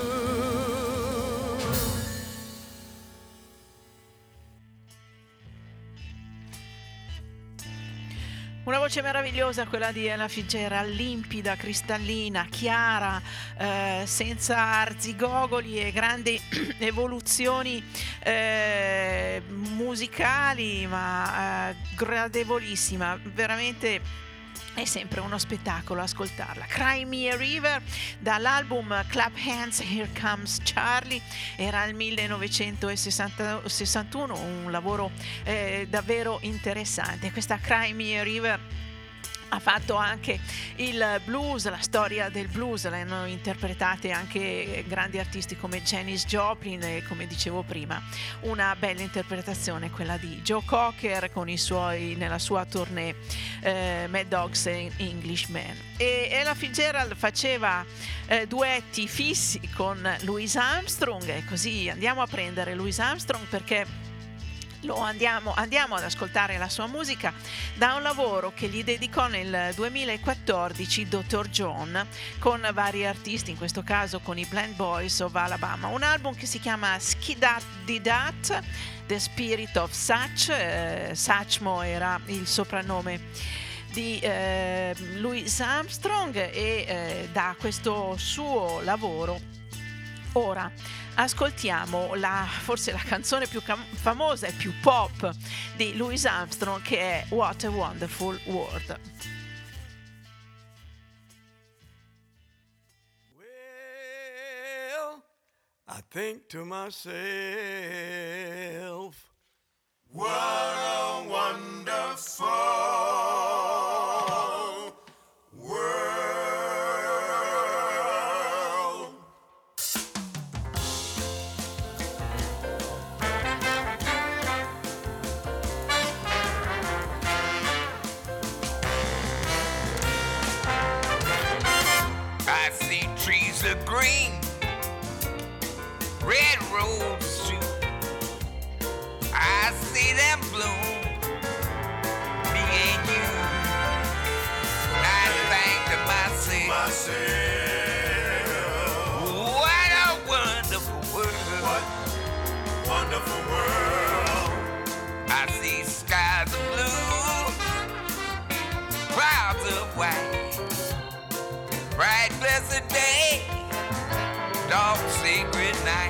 Una voce meravigliosa quella di Ella Fitzgerald, limpida, cristallina, chiara, senza arzigogoli e grandi evoluzioni musicali, ma gradevolissima, veramente. È sempre uno spettacolo ascoltarla. Cry Me a River dall'album Clap Hands, Here Comes Charlie, era il 1961, un lavoro davvero interessante. Questa Cry Me a River ha fatto anche il blues, la storia del blues, l'hanno interpretate anche grandi artisti come Janis Joplin e, come dicevo prima, una bella interpretazione quella di Joe Cocker con i suoi, nella sua tournée Mad Dogs e Englishman. E Ella Fitzgerald faceva duetti fissi con Louis Armstrong, e così andiamo a prendere Louis Armstrong perché andiamo ad ascoltare la sua musica da un lavoro che gli dedicò nel 2014 Dr. John, con vari artisti, in questo caso con i Blend Boys of Alabama, un album che si chiama Skidat Didat, The Spirit of Satchmo era il soprannome di Louis Armstrong, e da questo suo lavoro ora ascoltiamo forse la canzone più famosa e più pop di Louis Armstrong, che è What a Wonderful World. Well, I think to myself, what a wonderful world. I see trees of green, red roses too. I see them bloom, me and you. I think to myself, what a wonderful world. What wonderful world. I see skies of blue, clouds of white, bright blessed day, dark sacred night.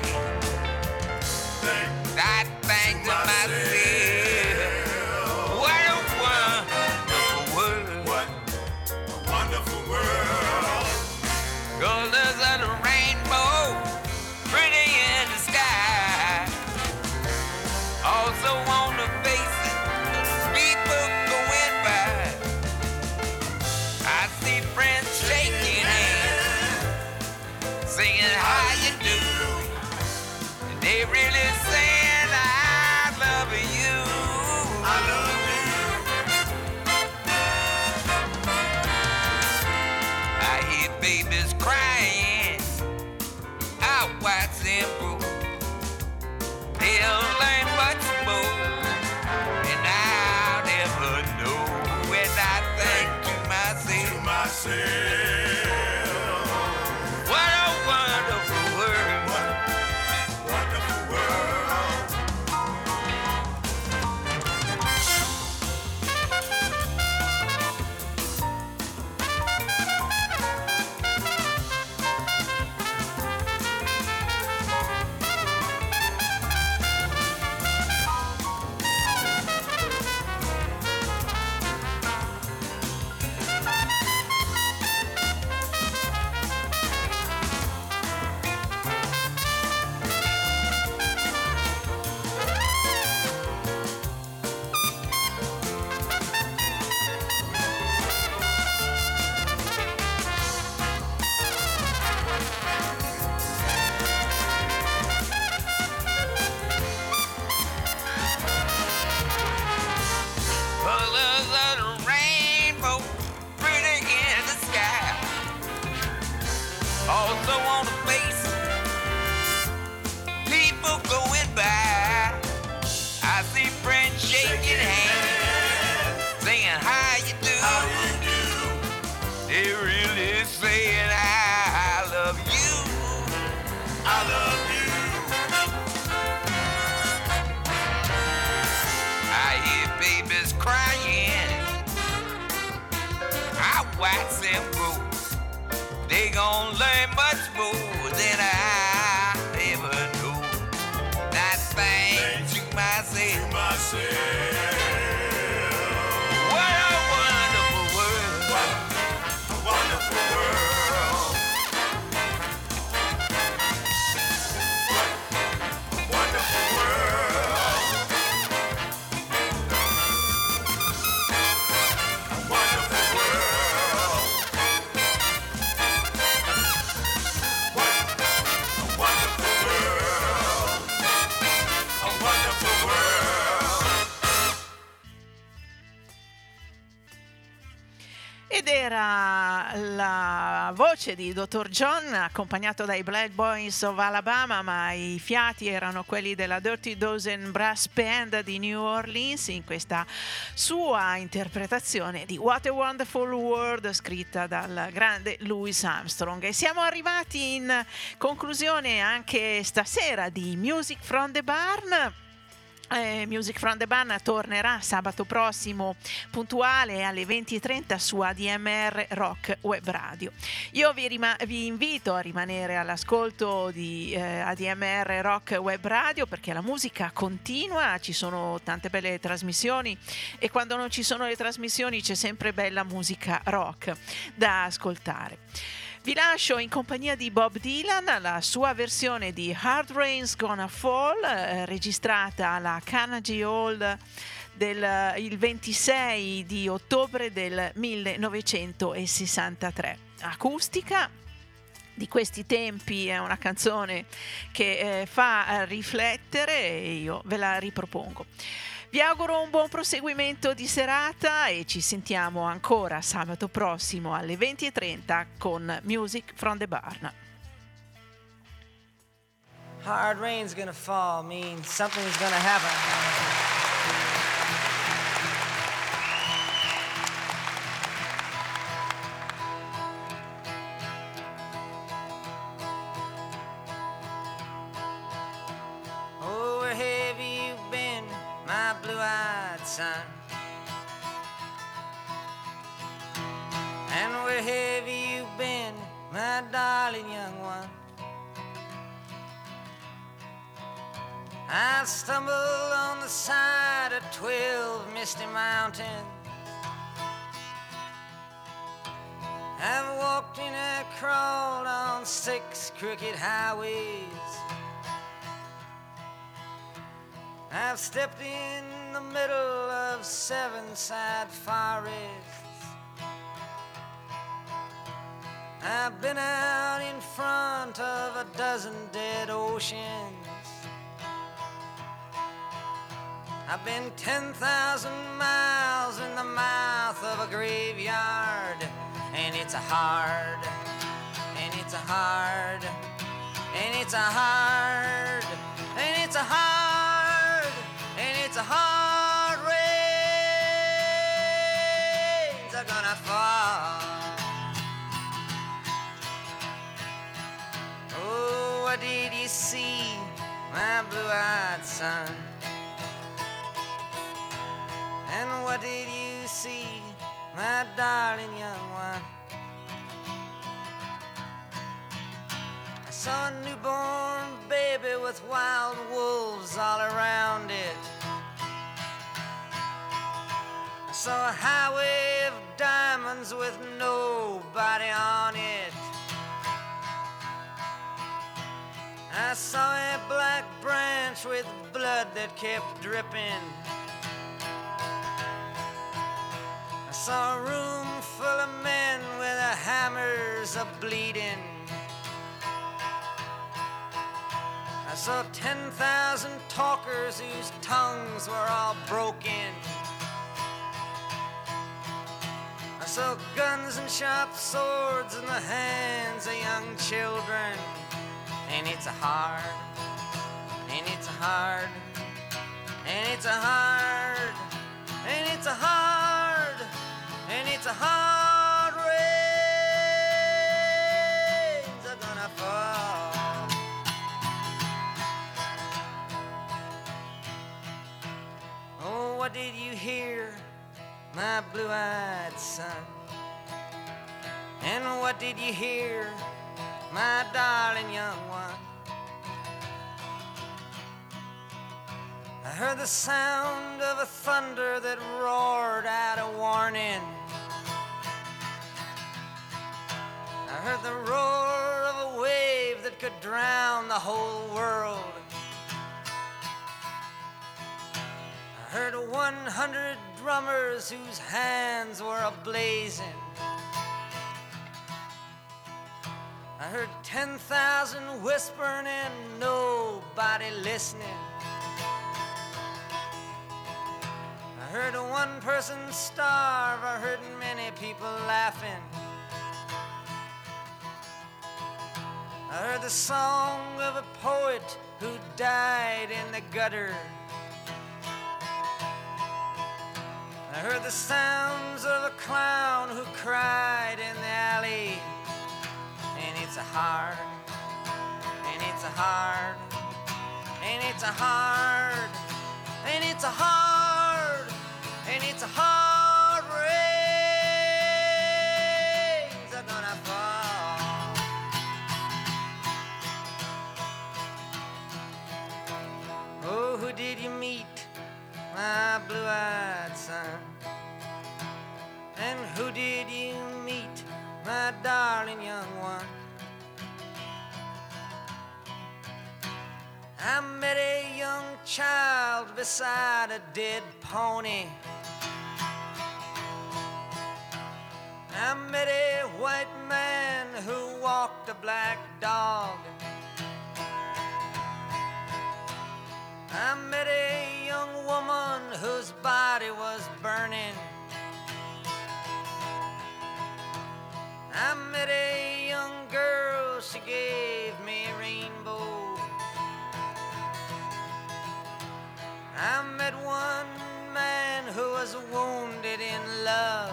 I think to myself, what a wonderful world. What a wonderful world. Colors of the rainbow, pretty in the sky. Also on the faces of people going by. I see friends shaking hands, singing how you do. And they really saying I love you. I love you. I hear babies crying out wide simple. They'll learn much more, and I'll never know when I think to myself, Myself. what a wonderful world. they really saying I love you. I love you. I hear babies crying. I watch them grow. They gon' learn much more than I ever knew. That thing to myself. What a wonderful world. A wonderful world. A wonderful world. A wonderful world. A wonderful world. A wonderful world. Ed era la voce di Dr. John accompagnato dai Black Boys of Alabama, ma i fiati erano quelli della Dirty Dozen Brass Band di New Orleans in questa sua interpretazione di What a Wonderful World scritta dal grande Louis Armstrong. E siamo arrivati in conclusione anche stasera di Music from the Barn. Music from the Barn tornerà sabato prossimo puntuale alle 20:30 su ADMR Rock Web Radio. Io vi invito a rimanere all'ascolto di ADMR Rock Web Radio, perché la musica continua, ci sono tante belle trasmissioni e quando non ci sono le trasmissioni c'è sempre bella musica rock da ascoltare. Vi lascio in compagnia di Bob Dylan, la sua versione di Hard Rain's Gonna Fall, registrata alla Carnegie Hall il 26 di ottobre del 1963. Acustica. Di questi tempi, è una canzone che fa riflettere e io ve la ripropongo. Vi auguro un buon proseguimento di serata e ci sentiamo ancora sabato prossimo alle 20:30 con Music from the Barn. Hard rain's gonna fall means something's gonna happen. Oh, where have you been, my blue-eyed son? And where have you been, my darling young one? I stumbled on the side of 12 misty mountains. I've walked and I crawled on 6 crooked highways. I've stepped in the middle of 7 sad forests. I've been out in front of a dozen dead oceans. I've been 10,000 miles in the mouth of a graveyard. And it's a hard, and it's a hard, and it's a hard, and it's a hard, and it's a hard rains are gonna fall. Oh, what did you see, my blue-eyed son? And what did you see, my darling young one? I saw a newborn baby with wild wolves all around it. I saw a highway of diamonds with nobody on it. I saw a black branch with blood that kept dripping. I saw a room full of men with their hammers a-bleeding. I saw 10,000 talkers whose tongues were all broken. I saw guns and sharp swords in the hands of young children. And it's a hard, and it's a hard, and it's a hard, and it's a hard, and it's a hard rain. what did you hear, my blue-eyed son? And what did you hear, my darling young one? I heard the sound of a thunder that roared out a warning. I heard the roar of a wave that could drown the whole world. I heard 100 drummers whose hands were a-blazing. I heard 10,000 whispering and nobody listening. I heard one person starve, I heard many people laughing. I heard the song of a poet who died in the gutter. I heard the sounds of a clown who cried in the alley. And it's a hard, and it's a hard, and it's a hard, and it's a hard, and it's a hard rains are gonna fall. Oh, who did you meet, my blue-eyed son? And who did you meet, my darling young one? I met a young child beside a dead pony. I met a white man who walked a black dog. I met a young woman whose body was burning. I met a young girl, she gave me a rainbow. I met one man who was wounded in love.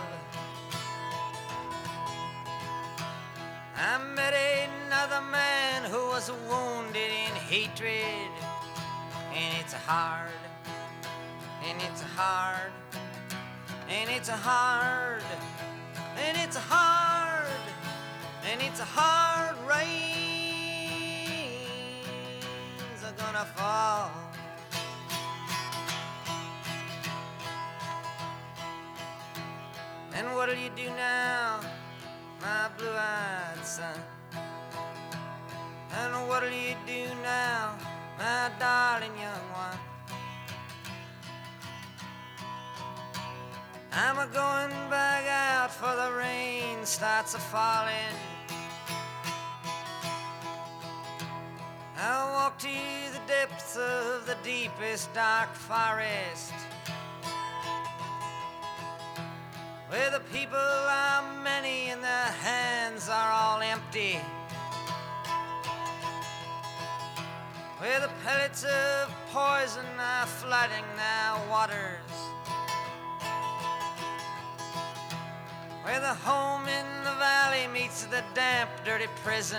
I met another man who was wounded in hatred. And it's a hard, and it's a hard, and it's a hard, and it's a hard, and it's a hard rains are gonna fall. And what'll you do now, my blue-eyed son? And what'll you do now, my darling young one? I'm a-going back out for the rain starts a-falling. I'll walk to the depths of the deepest dark forest, where the people are many and their hands are all empty, where the pellets of poison are flooding their waters, where the home in the valley meets the damp, dirty prison,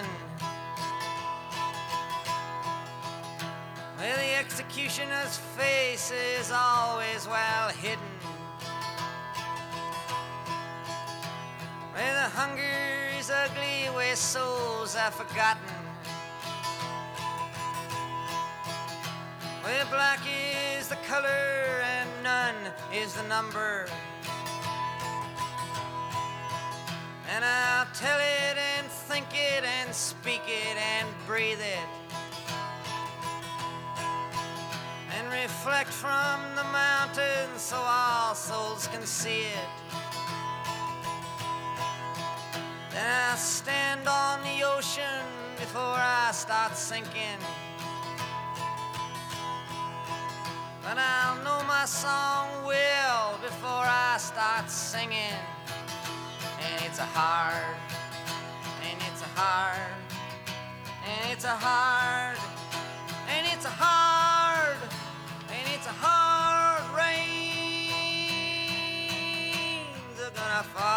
where the executioner's face is always well hidden, where the hunger is ugly, where souls are forgotten, where black is the color and none is the number. And I'll tell it and think it and speak it and breathe it, and reflect from the mountains so all souls can see it. Then I'll stand on the ocean before I start sinking, but I'll know my song well before I start singing. And it's a hard, and it's a hard, and it's a hard, and it's a hard, and it's a hard rains are gonna fall.